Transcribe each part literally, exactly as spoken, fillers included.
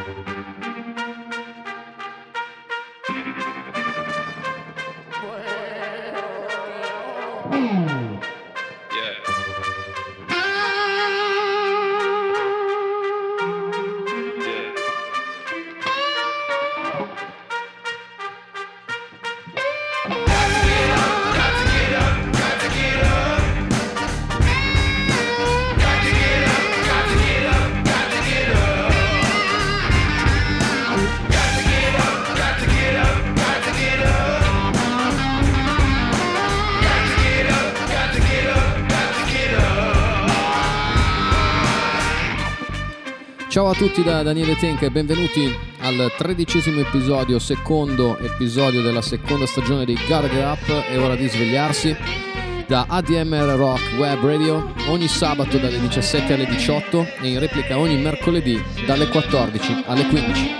Ciao a tutti da Daniele Tenca e benvenuti al tredicesimo episodio, secondo episodio della seconda stagione di Gotta Get Up. È ora di svegliarsi da A D M R Rock Web Radio ogni sabato dalle diciassette alle diciotto e in replica ogni mercoledì dalle quattordici alle quindici.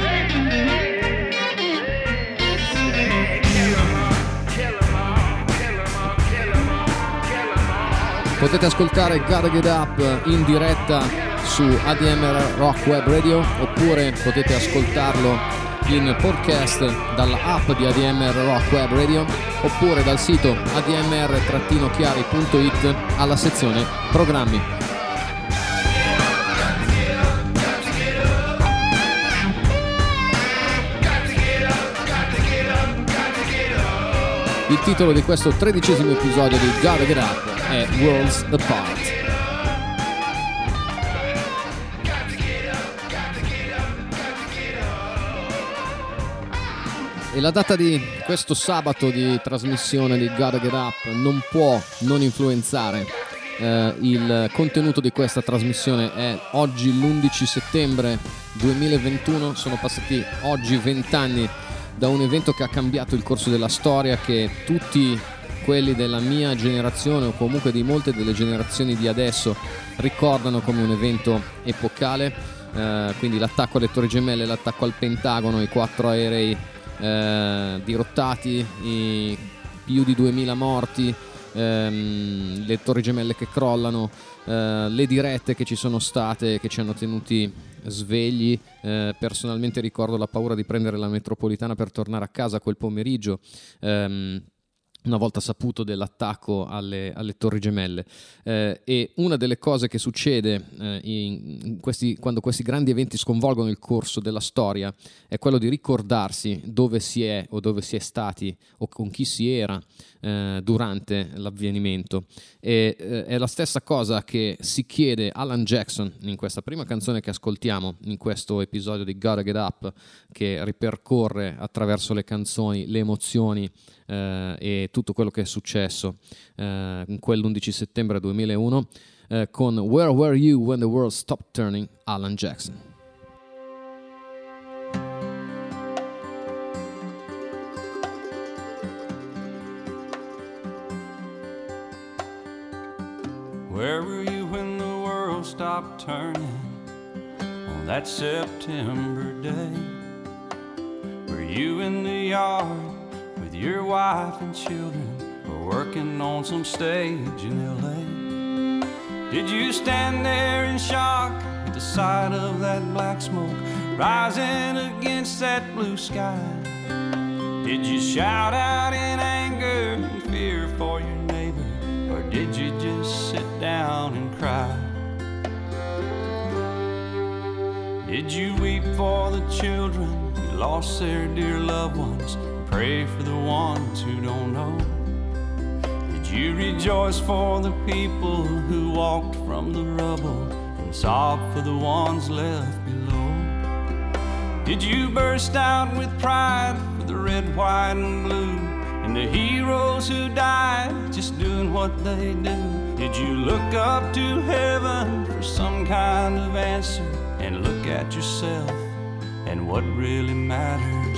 Potete ascoltare Gotta Get Up in diretta su A D M R Rock Web Radio oppure potete ascoltarlo in podcast dalla app di A D M R Rock Web Radio oppure dal sito a d m r chiari punto i t alla sezione programmi. Il titolo di questo tredicesimo episodio di Gotta Get Up è Worlds Apart. E la data di questo sabato di trasmissione di Gotta Get Up non può non influenzare eh, il contenuto di questa trasmissione. È oggi l'undici settembre duemilaventuno, sono passati oggi vent'anni da un evento che ha cambiato il corso della storia, che tutti quelli della mia generazione o comunque di molte delle generazioni di adesso ricordano come un evento epocale, eh, quindi l'attacco alle Torri Gemelle, l'attacco al Pentagono, i quattro aerei Eh, dirottati, i più di duemila morti, ehm, le Torri Gemelle che crollano, eh, le dirette che ci sono state, che ci hanno tenuti svegli. Eh, personalmente ricordo la paura di prendere la metropolitana per tornare a casa quel pomeriggio, ehm, una volta saputo dell'attacco alle, alle Torri Gemelle. Eh, e una delle cose che succede eh, in, in questi, quando questi grandi eventi sconvolgono il corso della storia è quello di ricordarsi dove si è o dove si è stati o con chi si era eh, durante l'avvenimento. E eh, è la stessa cosa che si chiede Alan Jackson in questa prima canzone che ascoltiamo in questo episodio di Gotta Get Up, che ripercorre attraverso le canzoni le emozioni eh, e tutto quello che è successo eh, in quell'undici settembre duemilauno, eh, con Where Were You When the World Stopped Turning, Alan Jackson. Where were you when the world stopped turning on that September day? Were you in the yard with your wife and children, or working on some stage in L A? Did you stand there in shock at the sight of that black smoke rising against that blue sky? Did you shout out in anger and fear for your neighbor, or did you just sit down and cry? Did you weep for the children who lost their dear loved ones, and pray for the ones who don't know? Did you rejoice for the people who walked from the rubble and sob for the ones left below? Did you burst out with pride for the red, white, and blue, and the heroes who died just doing what they do? Did you look up to heaven for some kind of answer, and look at yourself and what really matters?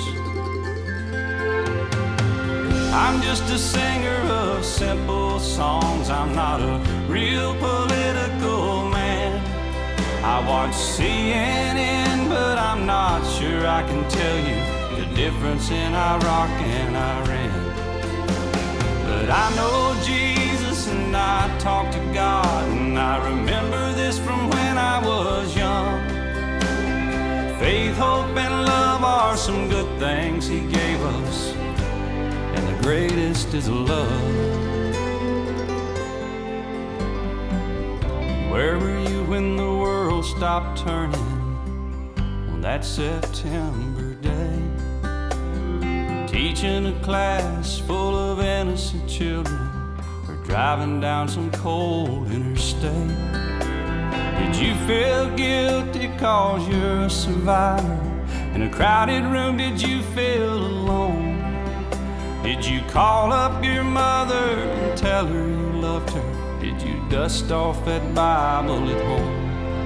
I'm just a singer of simple songs, I'm not a real political man. I watch C N N, but I'm not sure I can tell you the difference in Iraq and Iran. But I know Jesus and I talk to God, and I remember this from when I was young. Faith good things he gave us, and the greatest is love. Where were you when the world stopped turning on that September day? Teaching a class full of innocent children, or driving down some cold interstate. Did you feel guilty cause you're a survivor? In a crowded room, did you feel alone? Did you call up your mother and tell her you loved her? Did you dust off that Bible at home?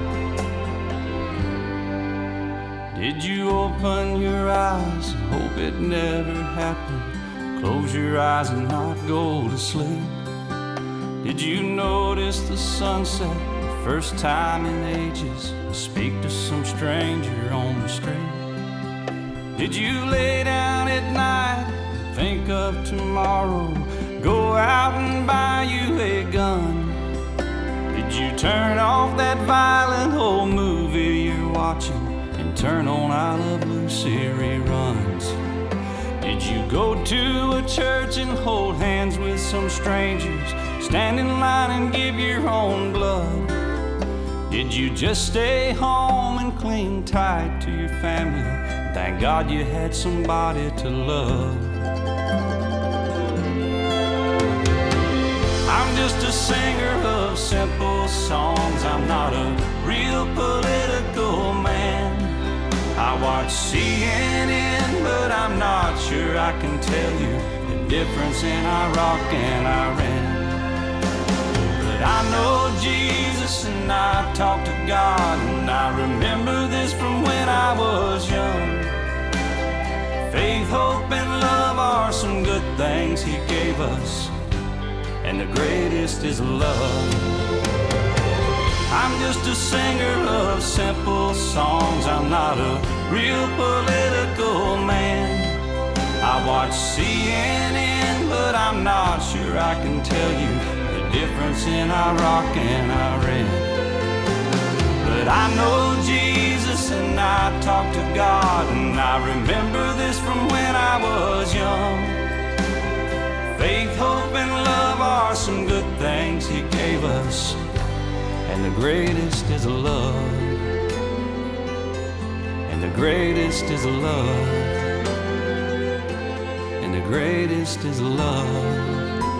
Did you open your eyes and hope it never happened? Close your eyes and not go to sleep? Did you notice the sunset the first time in ages? Speak to some stranger on the street? Did you lay down at night and think of tomorrow? Go out and buy you a gun? Did you turn off that violent old movie you're watching and turn on I Love Lucy reruns? Did you go to a church and hold hands with some strangers, stand in line and give your own blood? Did you just stay home and cling tight to your family? Thank God you had somebody to love. I'm just a singer of simple songs. I'm not a real political man. I watch C N N, but I'm not sure I can tell you the difference in Iraq and Iran. But I know Jesus and I talk to God, and I remember this from when I was young. Faith, hope, and love are some good things he gave us, and the greatest is love. I'm just a singer of simple songs. I'm not a real political man. I watch C N N, but I'm not sure I can tell you the difference in Iraq and Iran. But I know Jesus and I talk to God, and I remember this from when I was young. Faith, hope, and love are some good things he gave us, and the greatest is love. And the greatest is love. And the greatest is love.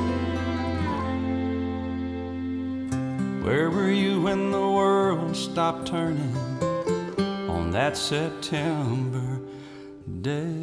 Where were you when the world stopped turning on that September day?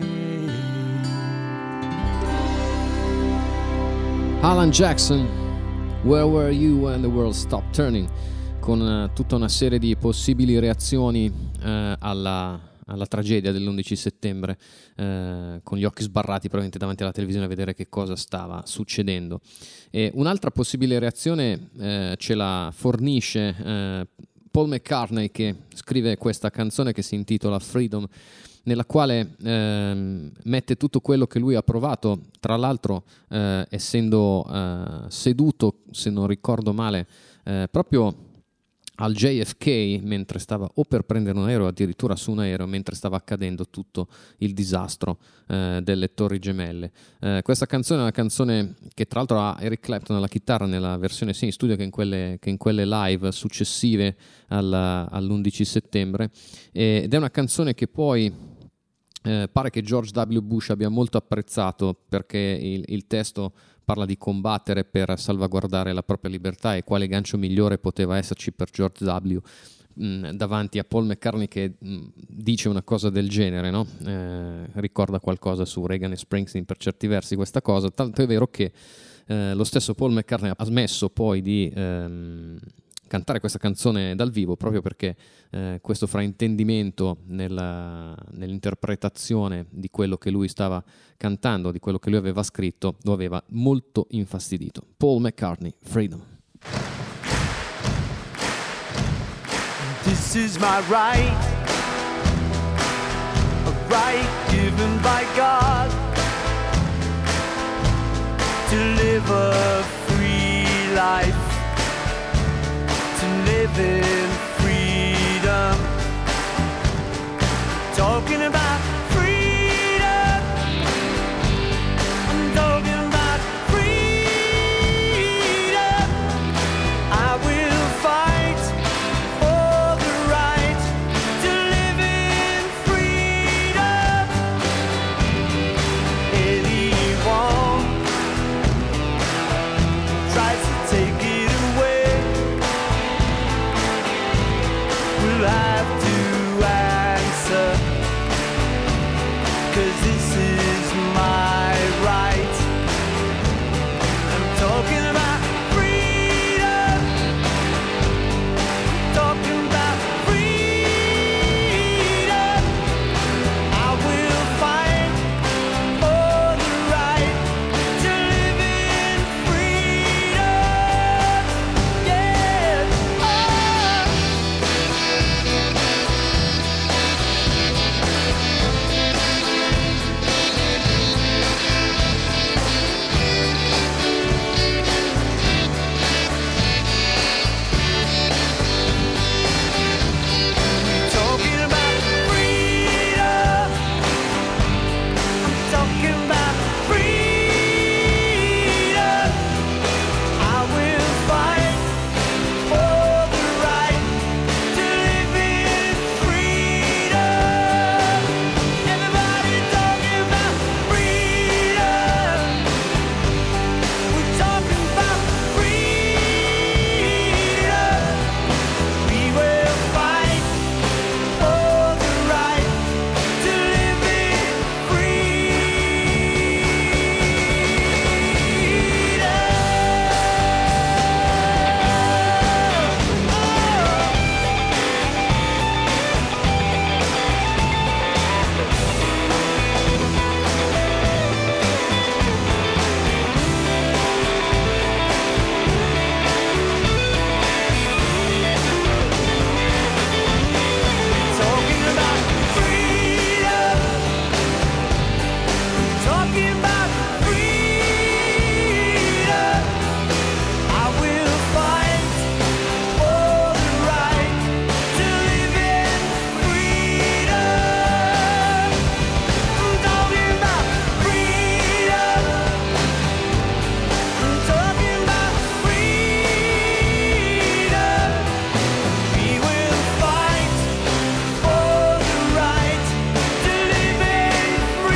Alan Jackson, Where Were You When the World Stopped Turning, con uh, tutta una serie di possibili reazioni uh, alla, alla tragedia dell'undici settembre, uh, con gli occhi sbarrati probabilmente davanti alla televisione a vedere che cosa stava succedendo. E un'altra possibile reazione uh, ce la fornisce uh, Paul McCartney, che scrive questa canzone che si intitola Freedom, nella quale eh, mette tutto quello che lui ha provato, tra l'altro eh, essendo eh, seduto, se non ricordo male, eh, proprio al J F K, mentre stava o per prendere un aereo, addirittura su un aereo, mentre stava accadendo tutto il disastro eh, delle Torri Gemelle. Eh, questa canzone è una canzone che tra l'altro ha Eric Clapton alla chitarra nella versione sia in studio che in quelle, che in quelle live successive alla, all'undici settembre, ed è una canzone che poi Eh, pare che George W. Bush abbia molto apprezzato, perché il, il testo parla di combattere per salvaguardare la propria libertà, e quale gancio migliore poteva esserci per George W. mh, davanti a Paul McCartney che mh, dice una cosa del genere, no? Eh, ricorda qualcosa su Reagan e Springsteen per certi versi questa cosa, tanto è vero che eh, lo stesso Paul McCartney ha smesso poi di ehm, cantare questa canzone dal vivo, proprio perché eh, questo fraintendimento nella, nell'interpretazione di quello che lui stava cantando, di quello che lui aveva scritto, lo aveva molto infastidito. Paul McCartney, Freedom. This is my right, a right given by God, to live a free life, to live in freedom. Talking about freedom. you'll have to answer, 'cause this is my right. I'm talking about freedom, talking about freedom. I will fight for the right to live in freedom. Yeah. Oh. Talking about freedom. I'm talking about freedom. I will fight for the right to live in freedom. Everybody talking about freedom. We're talking about freedom. We will fight for the right to live in talking about freedom. Talking about freedom. I will fight for the right to live in freedom. Talking about freedom. Talking about freedom. We will fight for the right to live in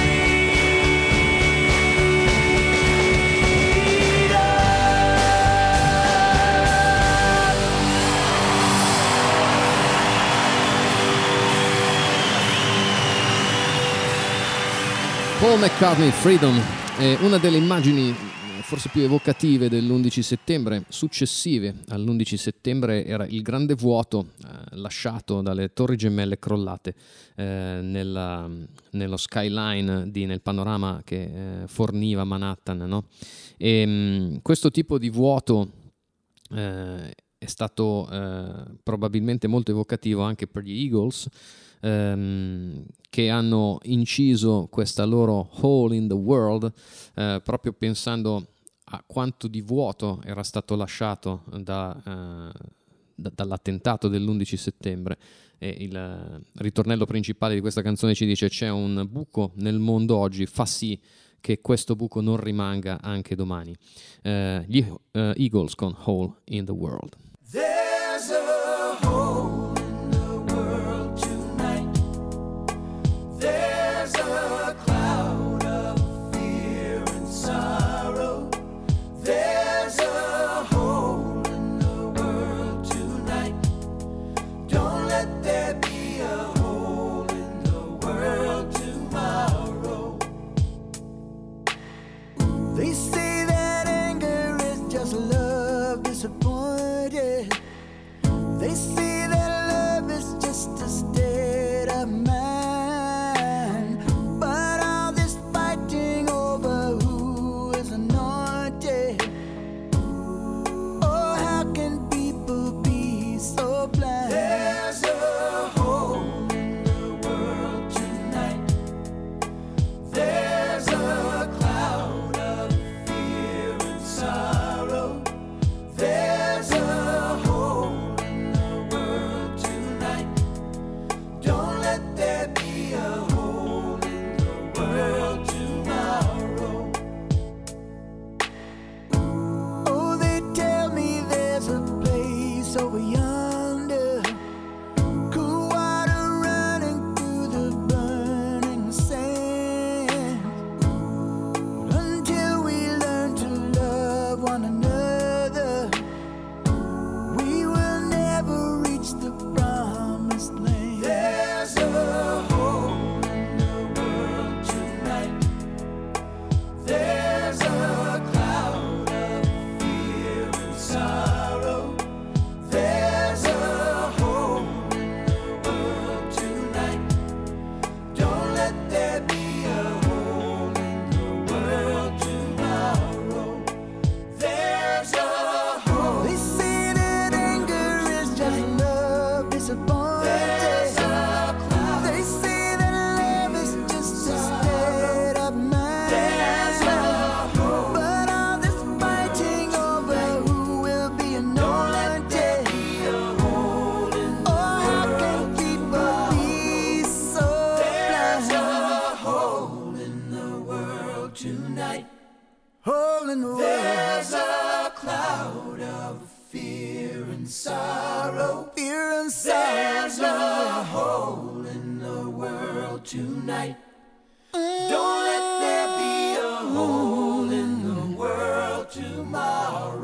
Paul McCartney, Freedom, è una delle immagini forse più evocative dell'undici settembre. Successive all'undici settembre era il grande vuoto eh, lasciato dalle torri gemelle crollate eh, nella, nello skyline, di, nel panorama che eh, forniva Manhattan, no? E, mh, questo tipo di vuoto eh, è stato eh, probabilmente molto evocativo anche per gli Eagles, ehm, che hanno inciso questa loro Hole in the World eh, proprio pensando a quanto di vuoto era stato lasciato da, eh, da, dall'attentato dell'undici settembre. E il ritornello principale di questa canzone ci dice: c'è un buco nel mondo oggi, fa sì che questo buco non rimanga anche domani. Eh, gli eh, Eagles con Hole in the World. There's a hole in the world tonight. There's a cloud of fear and sorrow. There's a hole in the world tonight. Don't let there be a hole in the world tomorrow. They say that anger is just love disappointed. They say that There's a hole in the world tonight. Don't let there be a hole in the world tomorrow.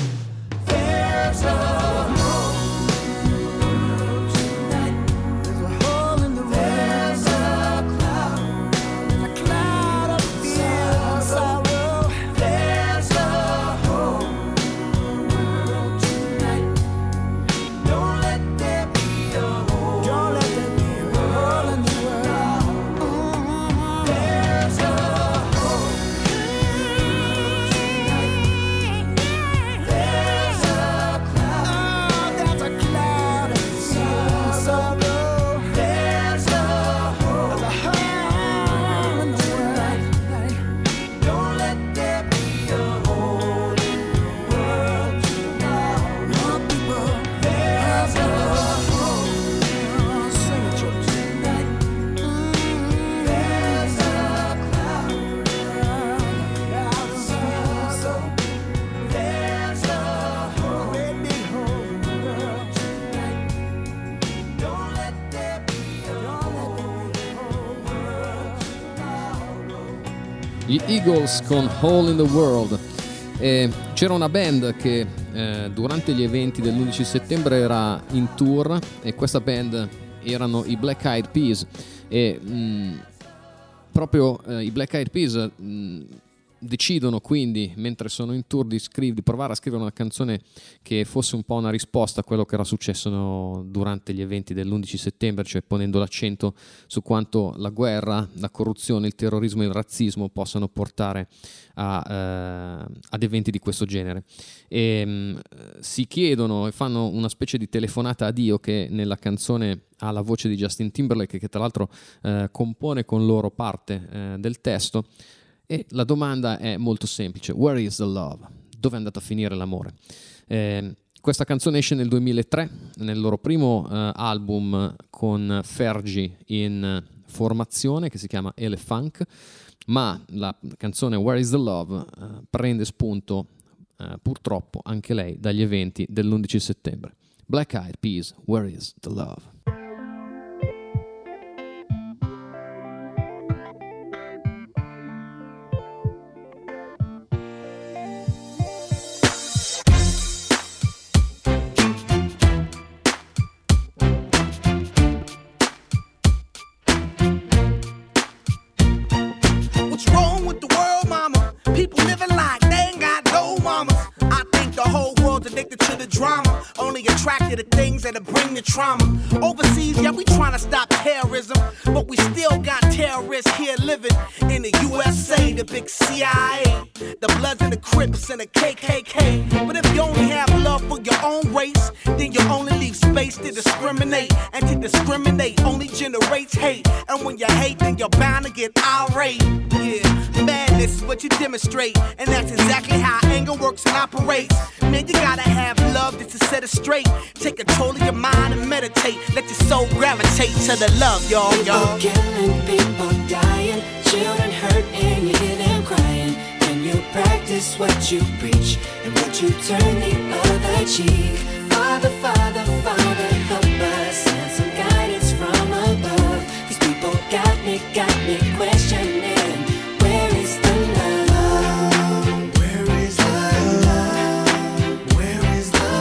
There's a hole in the world tonight. There's a hole in the world. There's a cloud, a cloud of fear and sorrow. There's a hole in the world tonight. Don't let there be a hole. Don't let there be a hole in the world. Mm-hmm. There's a hole in the world tonight. There's a cloud. Oh, there's a cloud of fear and sorrow. There's a hole. There's a hole in the world. Don't let there be a hole in the world tomorrow. Young people, there's a hole. Sing it, church. Tonight. There's a cloud. There's a sorrow. There's a hole. Great big hole in the world tonight. Don't let there be a hole in the world tomorrow. Gli Eagles con Hole in the World. E c'era una band che eh, durante gli eventi dell'undici settembre era in tour, e questa band erano i Black Eyed Peas, e mh, proprio eh, i Black Eyed Peas mh, decidono quindi, mentre sono in tour, di, scriv- di provare a scrivere una canzone che fosse un po' una risposta a quello che era successo no, durante gli eventi dell'undici settembre, cioè ponendo l'accento su quanto la guerra, la corruzione, il terrorismo e il razzismo possano portare a, eh, ad eventi di questo genere. E mh, si chiedono e fanno una specie di telefonata a Dio, che nella canzone ha la voce di Justin Timberlake, che tra l'altro eh, compone con loro parte eh, del testo. E la domanda è molto semplice: where is the love? Dove è andato a finire l'amore? Eh, questa canzone esce nel duemilatré, nel loro primo eh, album con Fergie in formazione, che si chiama Elefunk, ma la canzone Where is the Love eh, prende spunto eh, purtroppo anche lei dagli eventi dell'undici settembre. Black Eyed Peas, Where is the Love? What's wrong with the world, mama? People living like they ain't got no mamas. I think the whole world's addicted to the drama, only attracted to things that'll bring the trauma. Overseas, yeah, we trying to stop terrorism, but we still got terrorists here living in the U S A, the big C I A, the Bloods and the Crips and the K K K. But if you only have love for your own race, then you only leave space to discriminate, and to discriminate only generates hate. And when you hate, then you're bound to get irate. Yeah, madness is what you demonstrate, and that's exactly how anger works and operates. Man, you gotta have love just to set it straight. Take control of your mind and meditate. Let your soul gravitate to the love, y'all, y'all. People killing, people dying, children hurt and you hear them crying. When you practice what you preach and what you turn the other cheek. Father, Father, Father, help us, send some guidance from above. These people got me, got me questioning, where is the love? Where is the love? Where is the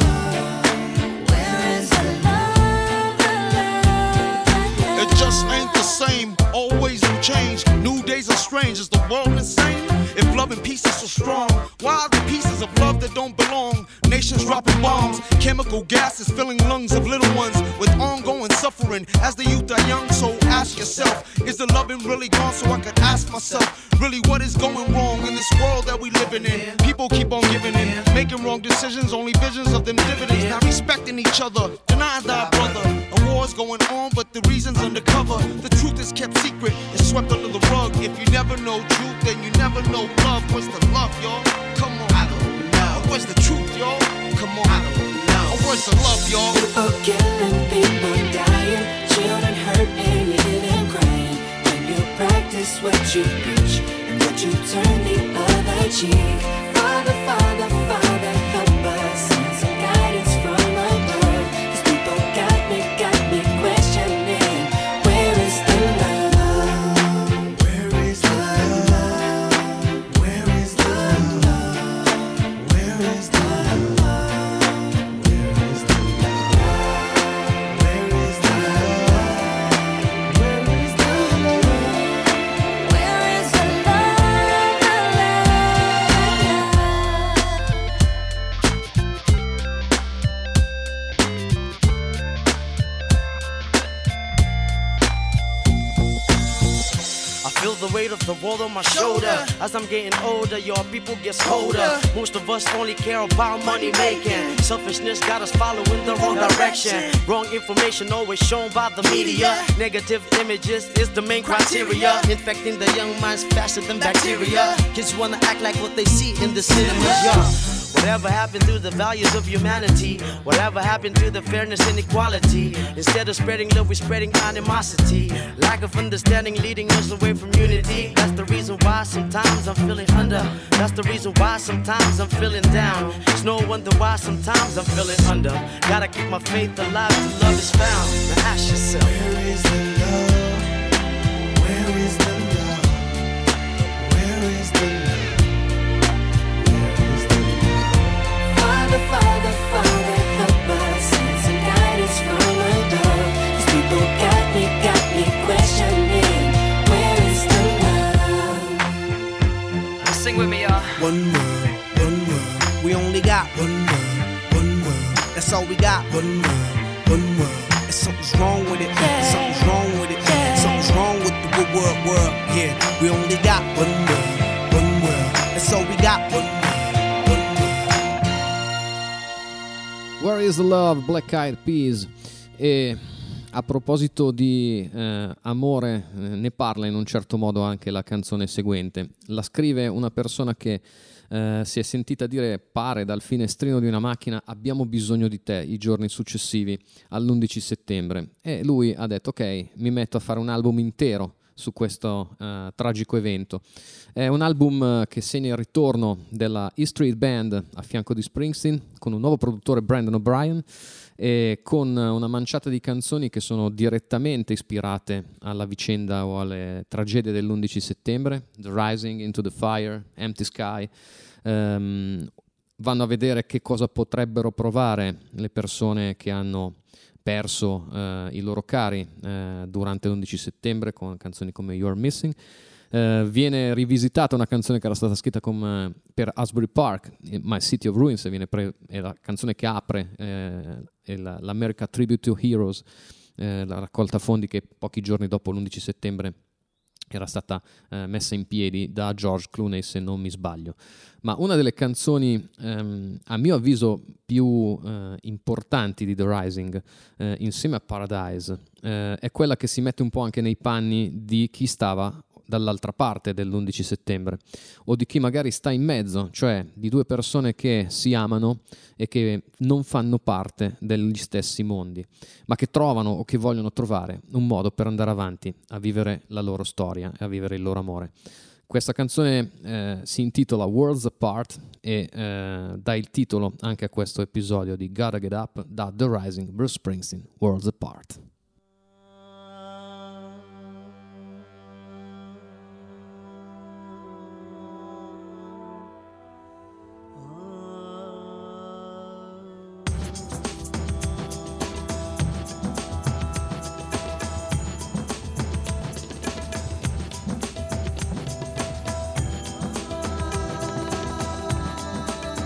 love? Where is the love, the love, the love? It just ain't the same, always new change. New days are strange, is the world insane? If love and peace is so strong, why are the pieces of love that don't belong? Nations dropping bombs, chemical gases filling lungs of little ones with ongoing suffering as the youth are young. So ask yourself, is the loving really gone? So I could ask myself, really what is going wrong in this world that we living in? People keep on giving in, making wrong decisions, only visions of them dividends. Not respecting each other, denying thy brother. A war's going on, but the reason's undercover. The truth is kept secret, it's swept under the rug. If you never know truth, then you never know love. What's the love, y'all? Come on. I don't know. Where's the truth, y'all? Come on. I don't know. Oh, where's the love, y'all? People killing, people dying, children hurt and you hear them crying. When you practice what you preach and what you turn the other cheek. Father, Father, Father, help us, send some guidance from above. These people got me, got me Feel the weight of the world on my shoulder. As I'm getting older, your people get colder. Most of us only care about money making. Selfishness got us following the wrong direction. Wrong information always shown by the media. Negative images is the main criteria. Infecting the young minds faster than bacteria. Kids wanna act like what they see in the cinemas, yeah. Whatever happened to the values of humanity? Whatever happened to the fairness and equality? Instead of spreading love, we're spreading animosity. Lack of understanding leading us away from unity. That's the reason why sometimes I'm feeling under. That's the reason why sometimes I'm feeling down. It's no wonder why sometimes I'm feeling under. Gotta keep my faith alive till love is found. Now ask yourself, where is the love? Where is the love? Where is the love? Father, Father, Father, help us, send some guidance from above. These people got me, got me questioning, where is the love? sing with me, y'all. One world, one world, we only got one world, one world, that's all we got. One world, one world, and something's wrong with it, Yeah. something's wrong with it, Yeah. something's wrong with the good world, world, yeah. We only got one world, one world, that's all we got. One world. Where is the Love, Black Eyed Peas. E a proposito di eh, amore, eh, ne parla in un certo modo anche la canzone seguente. La scrive una persona che eh, si è sentita dire, pare dal finestrino di una macchina: abbiamo bisogno di te i giorni successivi all'undici settembre. E lui ha detto: ok, mi metto a fare un album intero su questo uh, tragico evento. È un album uh, che segna il ritorno della E Street Band a fianco di Springsteen, con un nuovo produttore, Brandon O'Brien, e con uh, una manciata di canzoni che sono direttamente ispirate alla vicenda o alle tragedie dell'undici settembre. The Rising, Into the Fire, Empty Sky. Um, vanno a vedere che cosa potrebbero provare le persone che hanno perso eh, i loro cari eh, durante l'undici settembre, con canzoni come You're Missing. Eh, viene rivisitata una canzone che era stata scritta come, per Asbury Park, My City of Ruins, viene pre- è la canzone che apre eh, è la, l'America Tribute to Heroes, eh, la raccolta fondi che pochi giorni dopo l'undici settembre era stata eh, messa in piedi da George Clooney, se non mi sbaglio. Ma una delle canzoni ehm, a mio avviso più eh, importanti di The Rising, eh, insieme a Paradise, eh, è quella che si mette un po' anche nei panni di chi stava dall'altra parte dell'undici settembre, o di chi magari sta in mezzo, cioè di due persone che si amano e che non fanno parte degli stessi mondi, ma che trovano o che vogliono trovare un modo per andare avanti a vivere la loro storia e a vivere il loro amore. Questa canzone eh, si intitola Worlds Apart e eh, dà il titolo anche a questo episodio di Gotta Get Up da The Rising, Bruce Springsteen, Worlds Apart.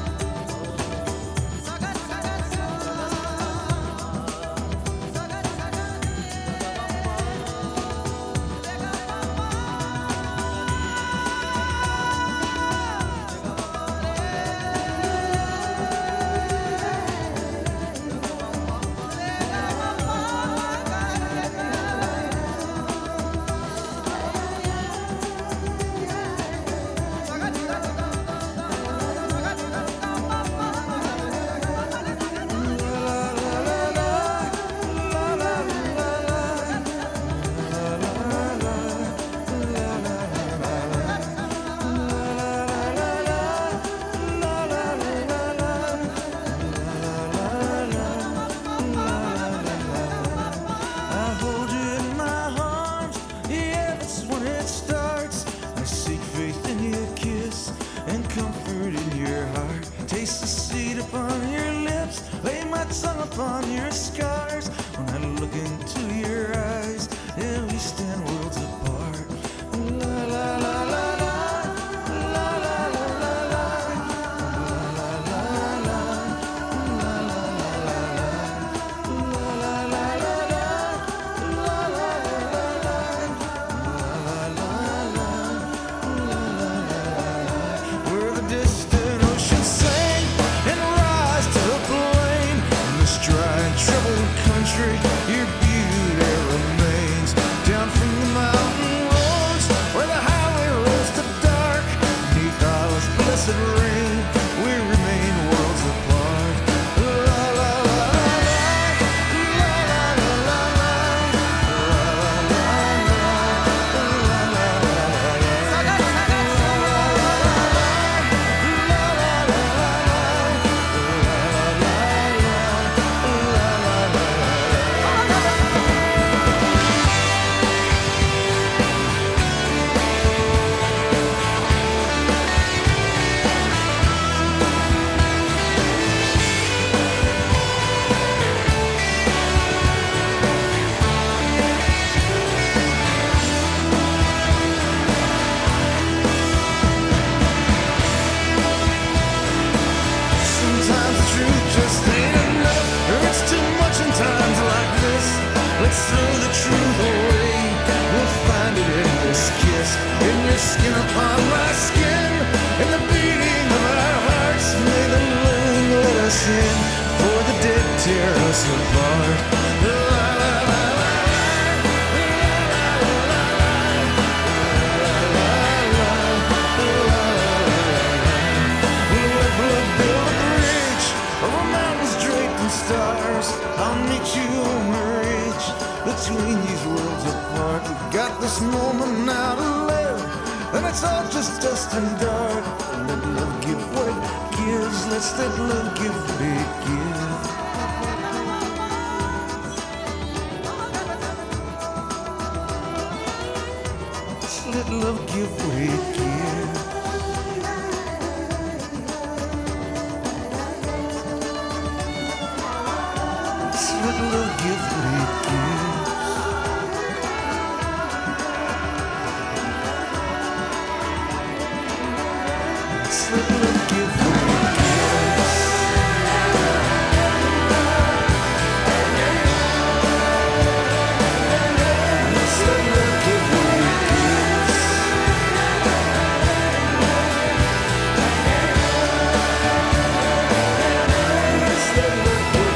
Saga, saga, saga. Let's throw the truth away. We'll find it in this kiss, in your skin upon my skin, in the beating of our hearts. May the moon let us in, for the dead tear us apart. La, la, la, la. Stars, I'll meet you on the ridge between these worlds apart. We've got this moment now to live, and it's all just dust and dark. Let love give what it gives. Let's let love give what it gives. Let's let love give what it gives. Let love give what it gives. Let's let love give what it gives. Let's let love give what it gives. Let's let love give what it gives.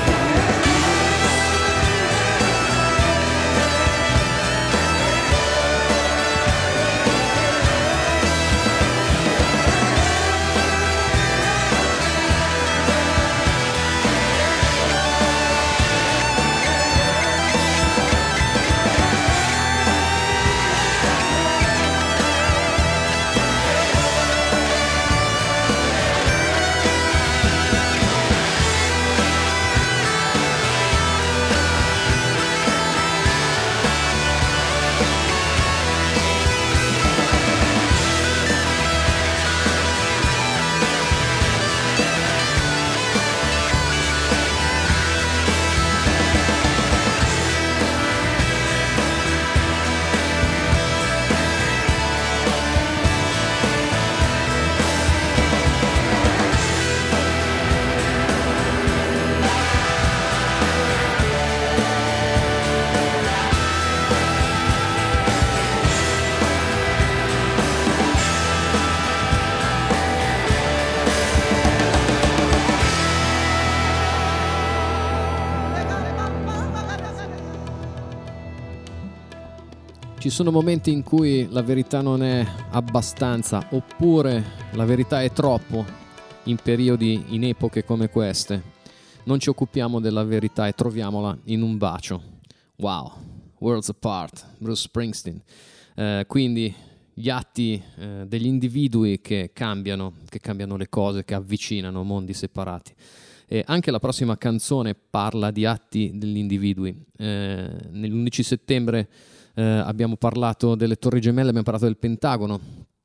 Ci sono momenti in cui la verità non è abbastanza, oppure la verità è troppo, in periodi, in epoche come queste. Non ci occupiamo della verità e troviamola in un bacio. Wow, Worlds Apart, Bruce Springsteen. Eh, quindi gli atti eh, degli individui che cambiano, che cambiano le cose, che avvicinano mondi separati. E anche la prossima canzone parla di atti degli individui. Eh, nell'undici settembre eh, abbiamo parlato delle Torri Gemelle, abbiamo parlato del Pentagono,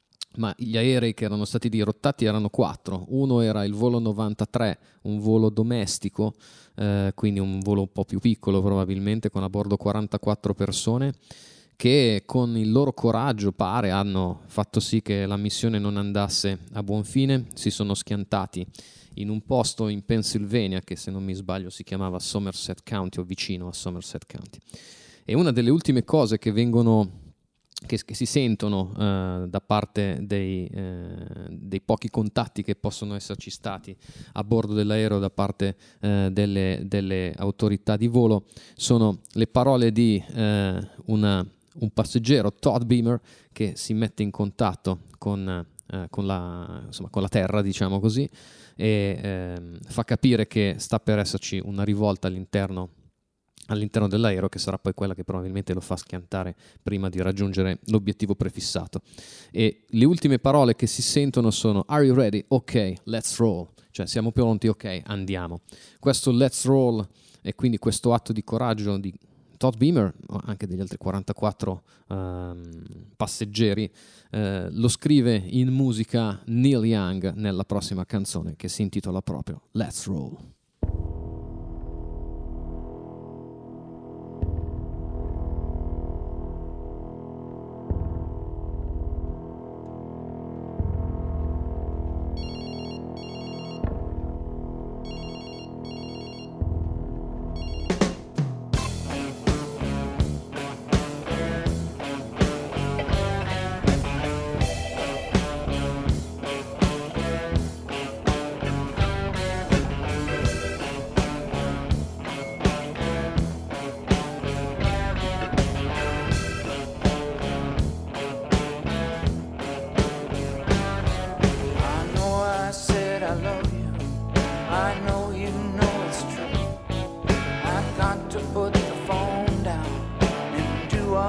ma gli aerei che erano stati dirottati erano quattro. Uno era il volo novantatré, un volo domestico, eh, quindi un volo un po' più piccolo probabilmente, con a bordo quarantaquattro persone, che con il loro coraggio, pare, hanno fatto sì che la missione non andasse a buon fine. Si sono schiantati in un posto in Pennsylvania che, se non mi sbaglio, si chiamava Somerset County o vicino a Somerset County. E una delle ultime cose che vengono che, che si sentono uh, da parte dei, uh, dei pochi contatti che possono esserci stati a bordo dell'aereo da parte uh, delle, delle autorità di volo sono le parole di uh, una, un passeggero, Todd Beamer, che si mette in contatto con, uh, con, la, insomma, con la terra, diciamo così, e uh, fa capire che sta per esserci una rivolta all'interno all'interno dell'aereo, che sarà poi quella che probabilmente lo fa schiantare prima di raggiungere l'obiettivo prefissato. E le ultime parole che si sentono sono "Are you ready? Ok, let's roll", cioè siamo pronti, ok, andiamo. Questo let's roll e quindi questo atto di coraggio di Todd Beamer, ma anche degli altri quarantaquattro um, passeggeri, uh, lo scrive in musica Neil Young nella prossima canzone, che si intitola proprio Let's Roll.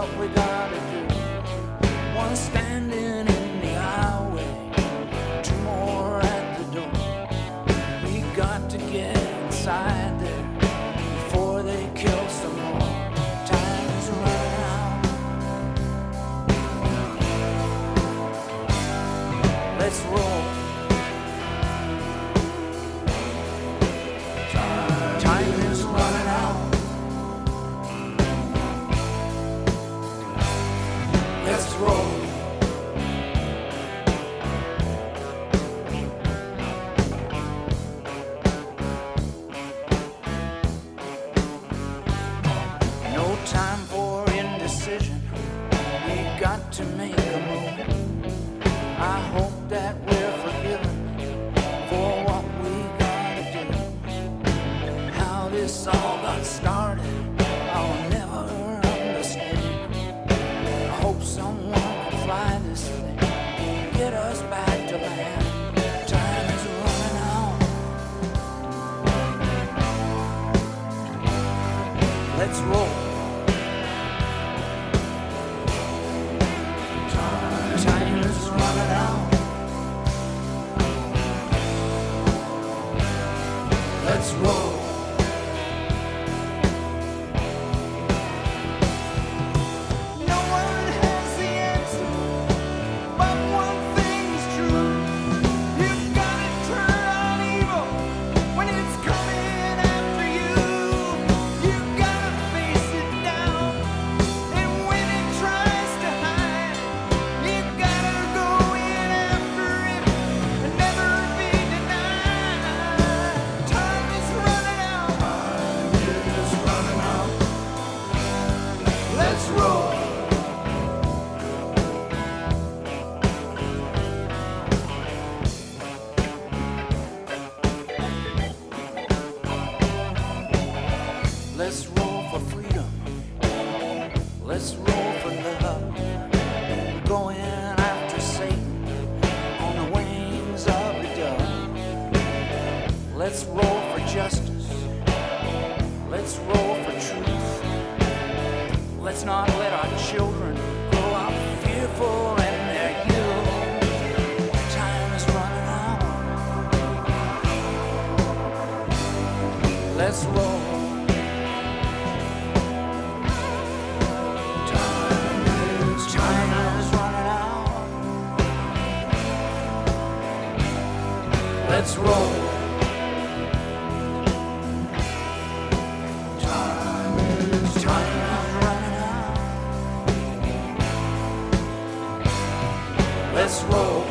we gotta do. One standing in the highway, two more at the door. We got to get inside there before they kill some more. Time is running out. Let's roll. Time is running out. Let's roll. No time for indecision. We got to make a move. I hope that we're forgiven for what we gotta do. How this all got started, I'll never understand. I hope someone can fly this thing, get us back to land. Time is running out. Let's roll. Time is running out. Let's roll. No one has the answer, but one thing's true. You gotta turn on evil when it's coming after you. You gotta face it down, and when it tries to hide, you gotta go in after it and never be denied. Time is running out. Time is running out. Let's roll. Let's roll for freedom. Let's roll for love. We're going after Satan on the wings of a dove. Let's roll for justice. Let's roll for truth. Let's not let our children grow up fearful in their youth. Time is running out. Let's roll. Time is, time is running out. Let's roll. Time is, time is running out. Let's roll.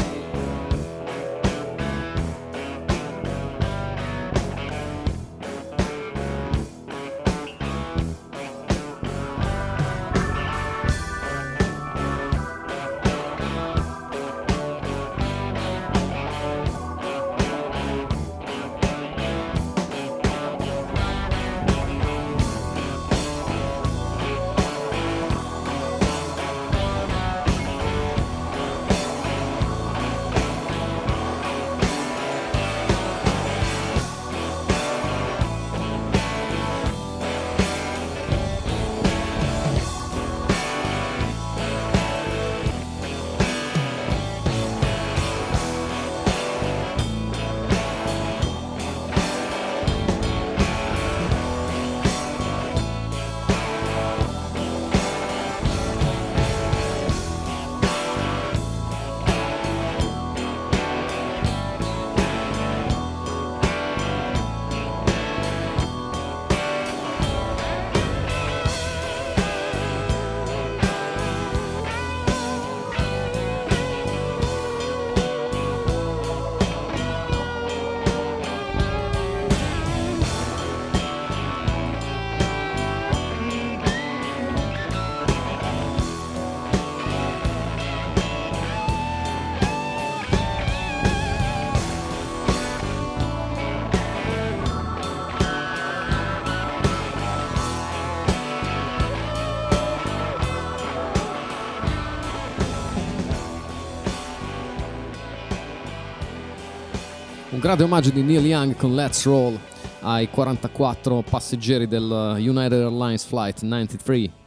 Un grande omaggio di Neil Young con Let's Roll ai quarantaquattro passeggeri del United Airlines Flight novantatré.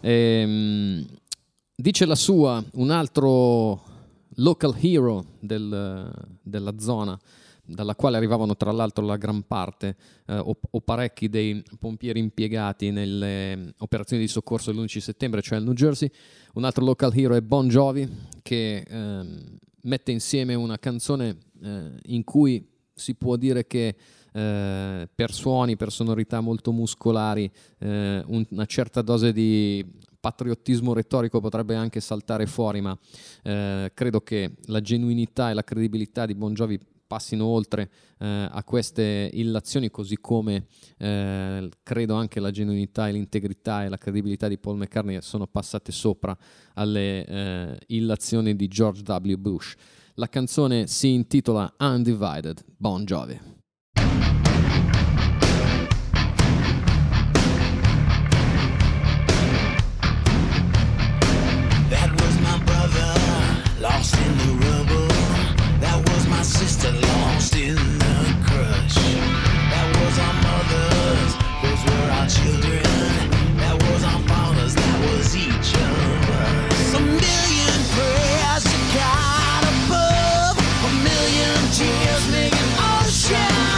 E, dice la sua un altro local hero del, della zona, dalla quale arrivavano tra l'altro la gran parte eh, o, o parecchi dei pompieri impiegati nelle operazioni di soccorso dell'undici settembre, cioè il New Jersey. Un altro local hero è Bon Jovi, che eh, mette insieme una canzone eh, in cui si può dire che eh, per suoni, per sonorità molto muscolari, eh, un, una certa dose di patriottismo retorico potrebbe anche saltare fuori, ma eh, credo che la genuinità e la credibilità di Bon Jovi passino oltre eh, a queste illazioni, così come eh, credo anche la genuinità e l'integrità e la credibilità di Paul McCartney sono passate sopra alle eh, illazioni di George W. Bush. La canzone si intitola Undivided, Bon Jovi. Lost in the rubble, that was my sister lost in the crush. That was our mothers, those were our children. That was our fathers, that was each of us. A million prayers to God above, a million tears make an ocean.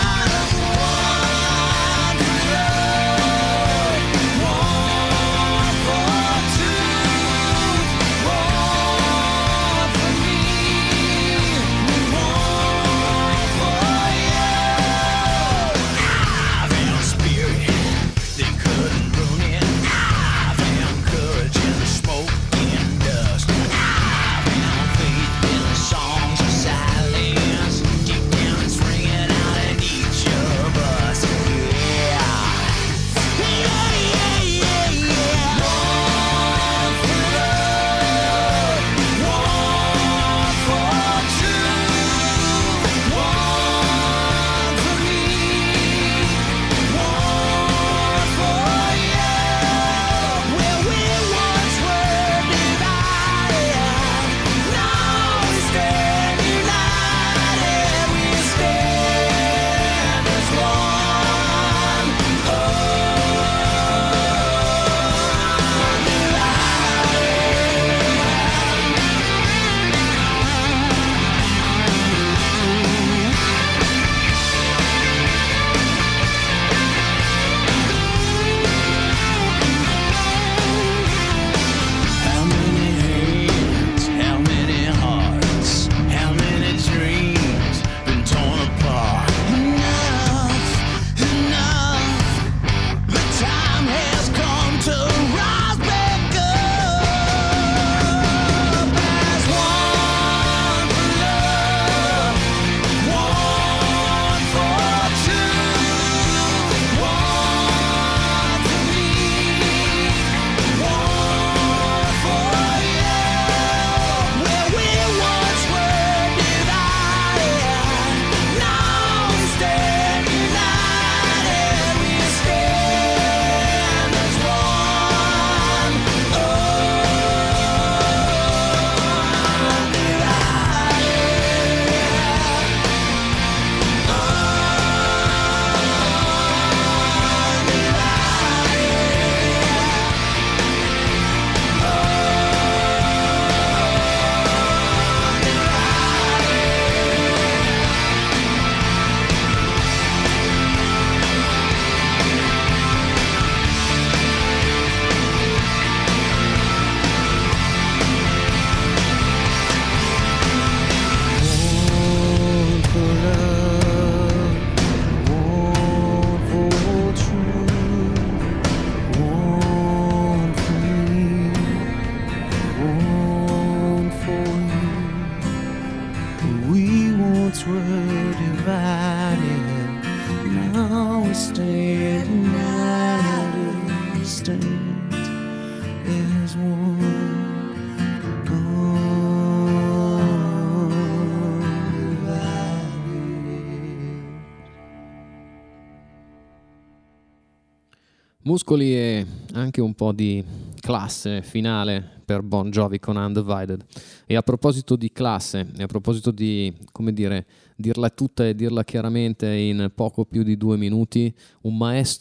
Muscoli e anche un po' di classe finale per Bon Jovi con Undivided. E a proposito di classe, e a proposito di, come dire, dirla tutta e dirla chiaramente in poco più di due minuti, un maestro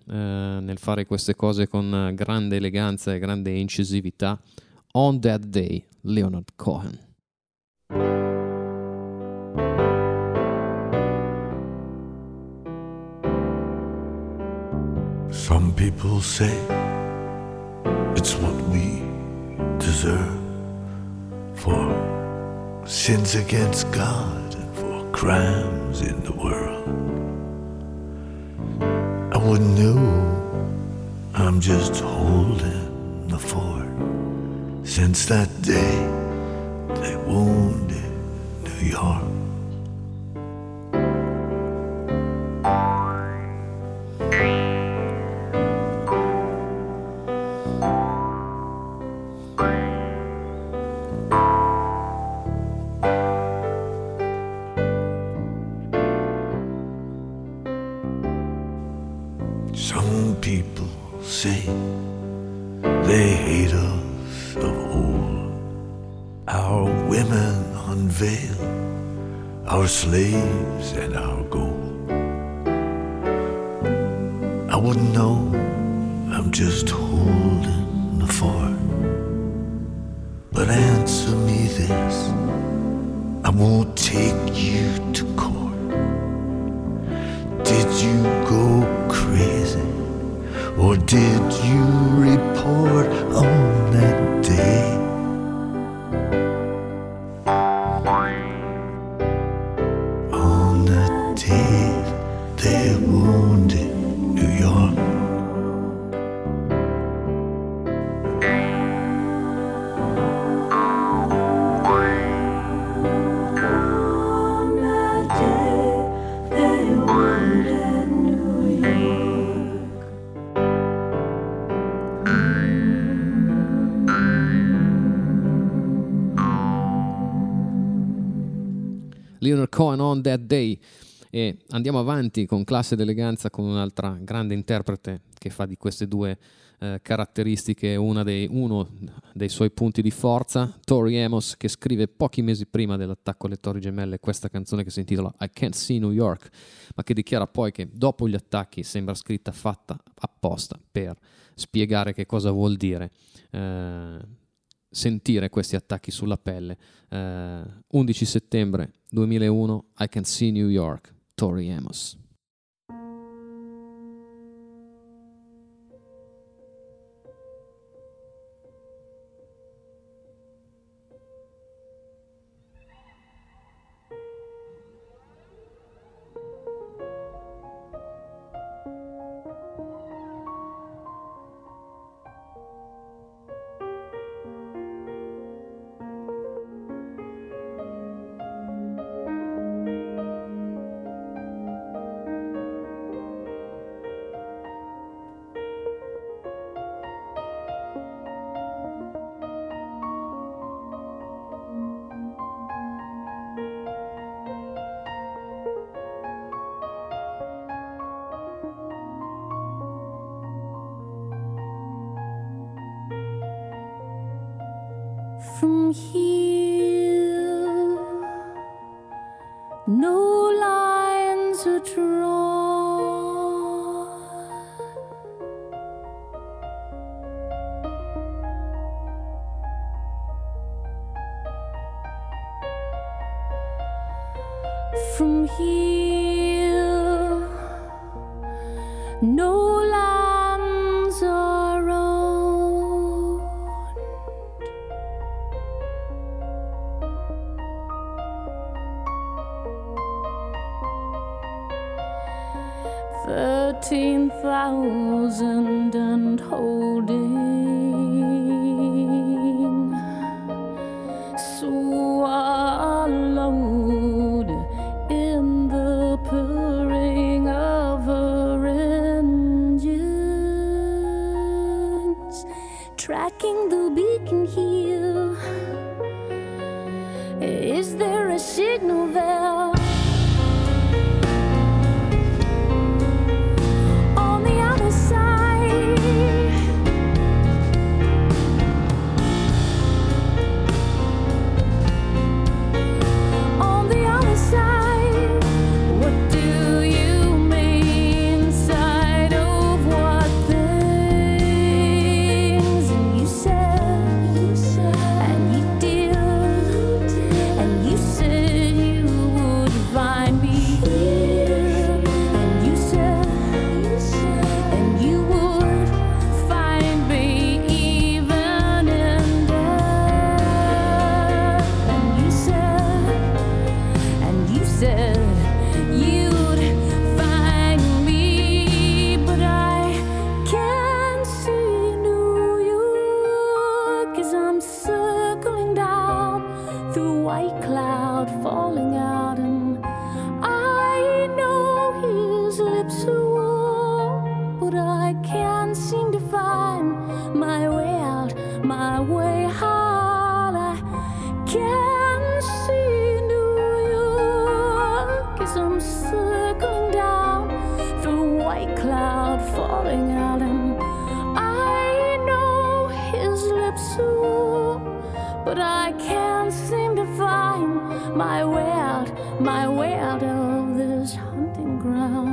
eh, nel fare queste cose con grande eleganza e grande incisività. On That Day, Leonard Cohen. Some people say it's what we deserve for sins against God and for crimes in the world. I wouldn't know, I'm just holding the fort. Since that day they wounded New York. Some people say they hate us of old. Our women unveil our slaves and our gold. I wouldn't know, I'm just holding the fort. But answer me this, I won't take you to court. Did you go crazy, or did you report on that day? On that day they wounded New York. Leonard Cohen, On That Day. E andiamo avanti con classe ed eleganza con un'altra grande interprete che fa di queste due eh, caratteristiche una dei, uno dei suoi punti di forza, Tori Amos, che scrive pochi mesi prima dell'attacco alle Torri Gemelle questa canzone che si intitola I Can't See New York, ma che dichiara poi che dopo gli attacchi sembra scritta fatta apposta per spiegare che cosa vuol dire eh, sentire questi attacchi sulla pelle. eh, undici settembre duemilauno, I Can't See New York, Tori Amos. From here, no lines are drawn. From here, no lands are owned. Thirteen thousand and holding, swallowed in the purring of her engines, tracking the beacon here. Is there a signal there? Of my way out. I can't see New York as I'm circling down through white cloud falling out, and I know his lips are, but I can't seem to find my way out, my way out of this hunting ground.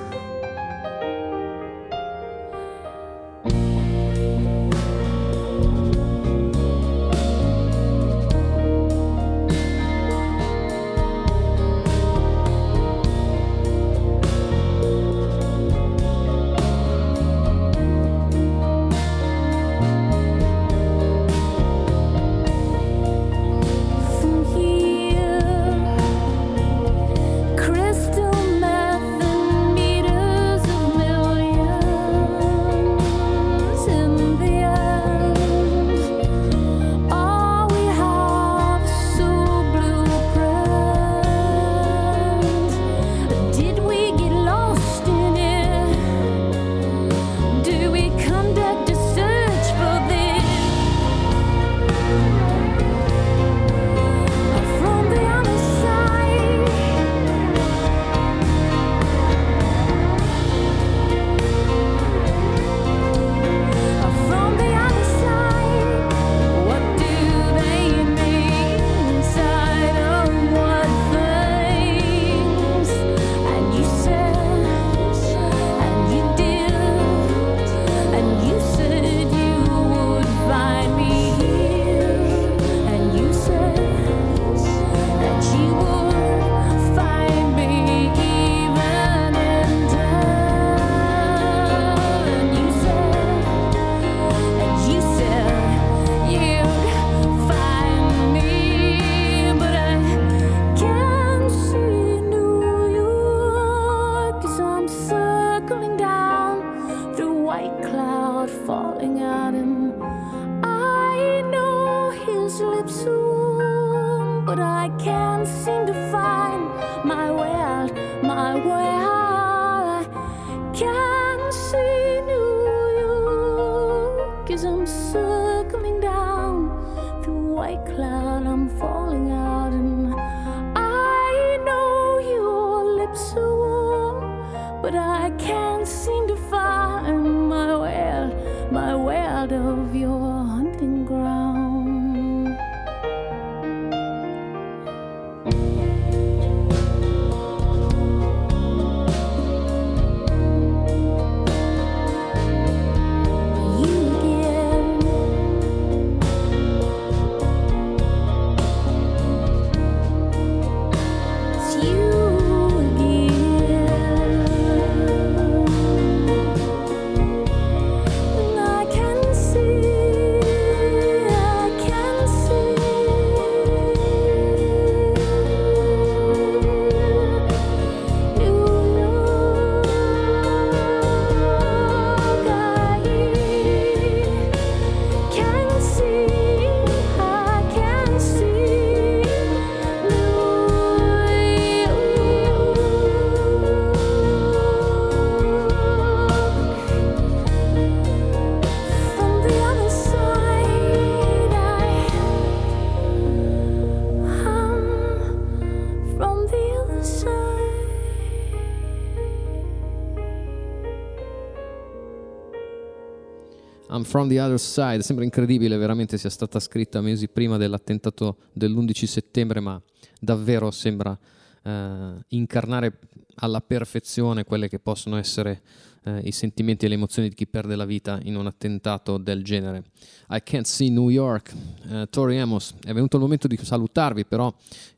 I'm from the other side, sembra incredibile veramente sia stata scritta mesi prima dell'attentato dell'undici settembre, ma davvero sembra eh, incarnare alla perfezione quelle che possono essere eh, i sentimenti e le emozioni di chi perde la vita in un attentato del genere. I Can't See New York, eh, Tori Amos. È venuto il momento di salutarvi però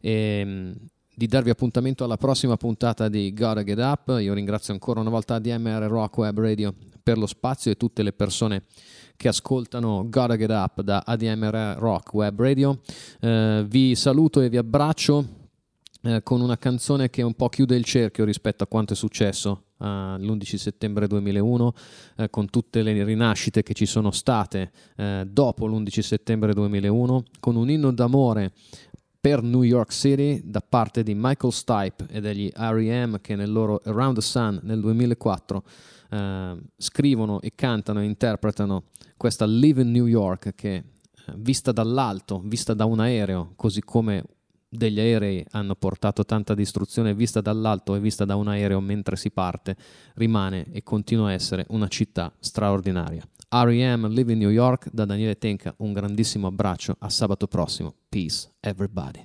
e di darvi appuntamento alla prossima puntata di Gotta Get Up. Io ringrazio ancora una volta A D M R Rock Web Radio per lo spazio e tutte le persone che ascoltano Gotta Get Up da A D M R Rock Web Radio. Eh, vi saluto e vi abbraccio eh, con una canzone che un po' chiude il cerchio rispetto a quanto è successo Uh, l'undici settembre duemilauno, uh, con tutte le rinascite che ci sono state uh, dopo l'undici settembre duemilauno, con un inno d'amore per New York City da parte di Michael Stipe e degli R E M, che nel loro Around the Sun nel duemilaquattro eh, scrivono e cantano e interpretano questa Live in New York, che eh, vista dall'alto, vista da un aereo, così come degli aerei hanno portato tanta distruzione, vista dall'alto e vista da un aereo mentre si parte, rimane e continua a essere una città straordinaria. R E M, Live in New York, da Daniele Tenca, un grandissimo abbraccio, a sabato prossimo. Peace, everybody.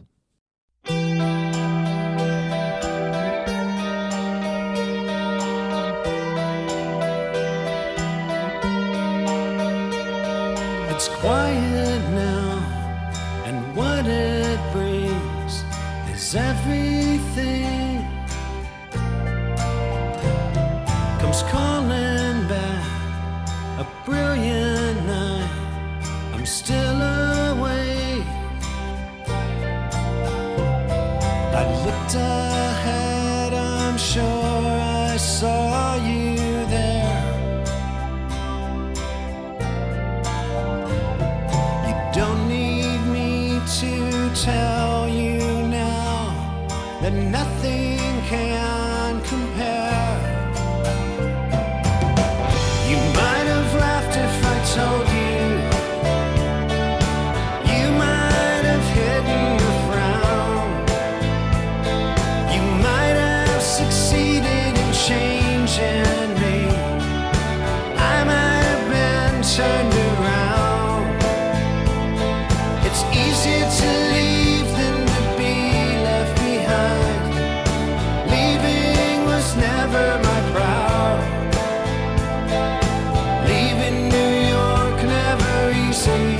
It's quiet now, and what it brings is everything comes calling back. A brilliant night, I'm still awake. I looked ahead, I'm sure I saw you there. You don't need me to tell you now that nothing can compare. You might have laughed if I told you. You might have hidden a frown. You might have succeeded in changing me. I might have been turned around. It's easier to leave than to be left behind. Leaving was never my proud. Leaving New York never easy.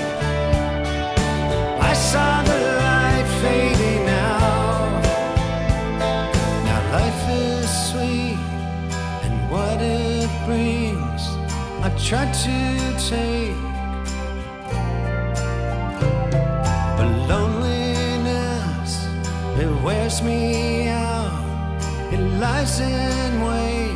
I saw the light fading out. Now life is sweet, and what it brings I try to take. But loneliness, it wears me out. It lies in wait.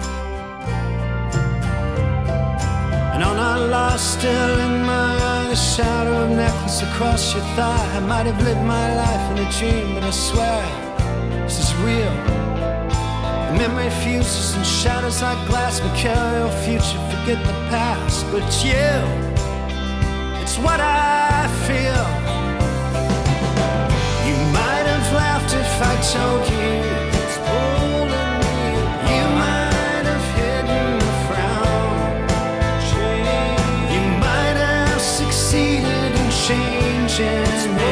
And on our lost, still in my eye, the shadow of necklace across your thigh. I might have lived my life in a dream, but I swear this is real. The memory fuses and shatters like glass. Mercurial future, forget the past. But it's you, it's what I feel. You might have laughed if I told you it's pulling me. You might have hidden a frown. You might have succeeded in changing me.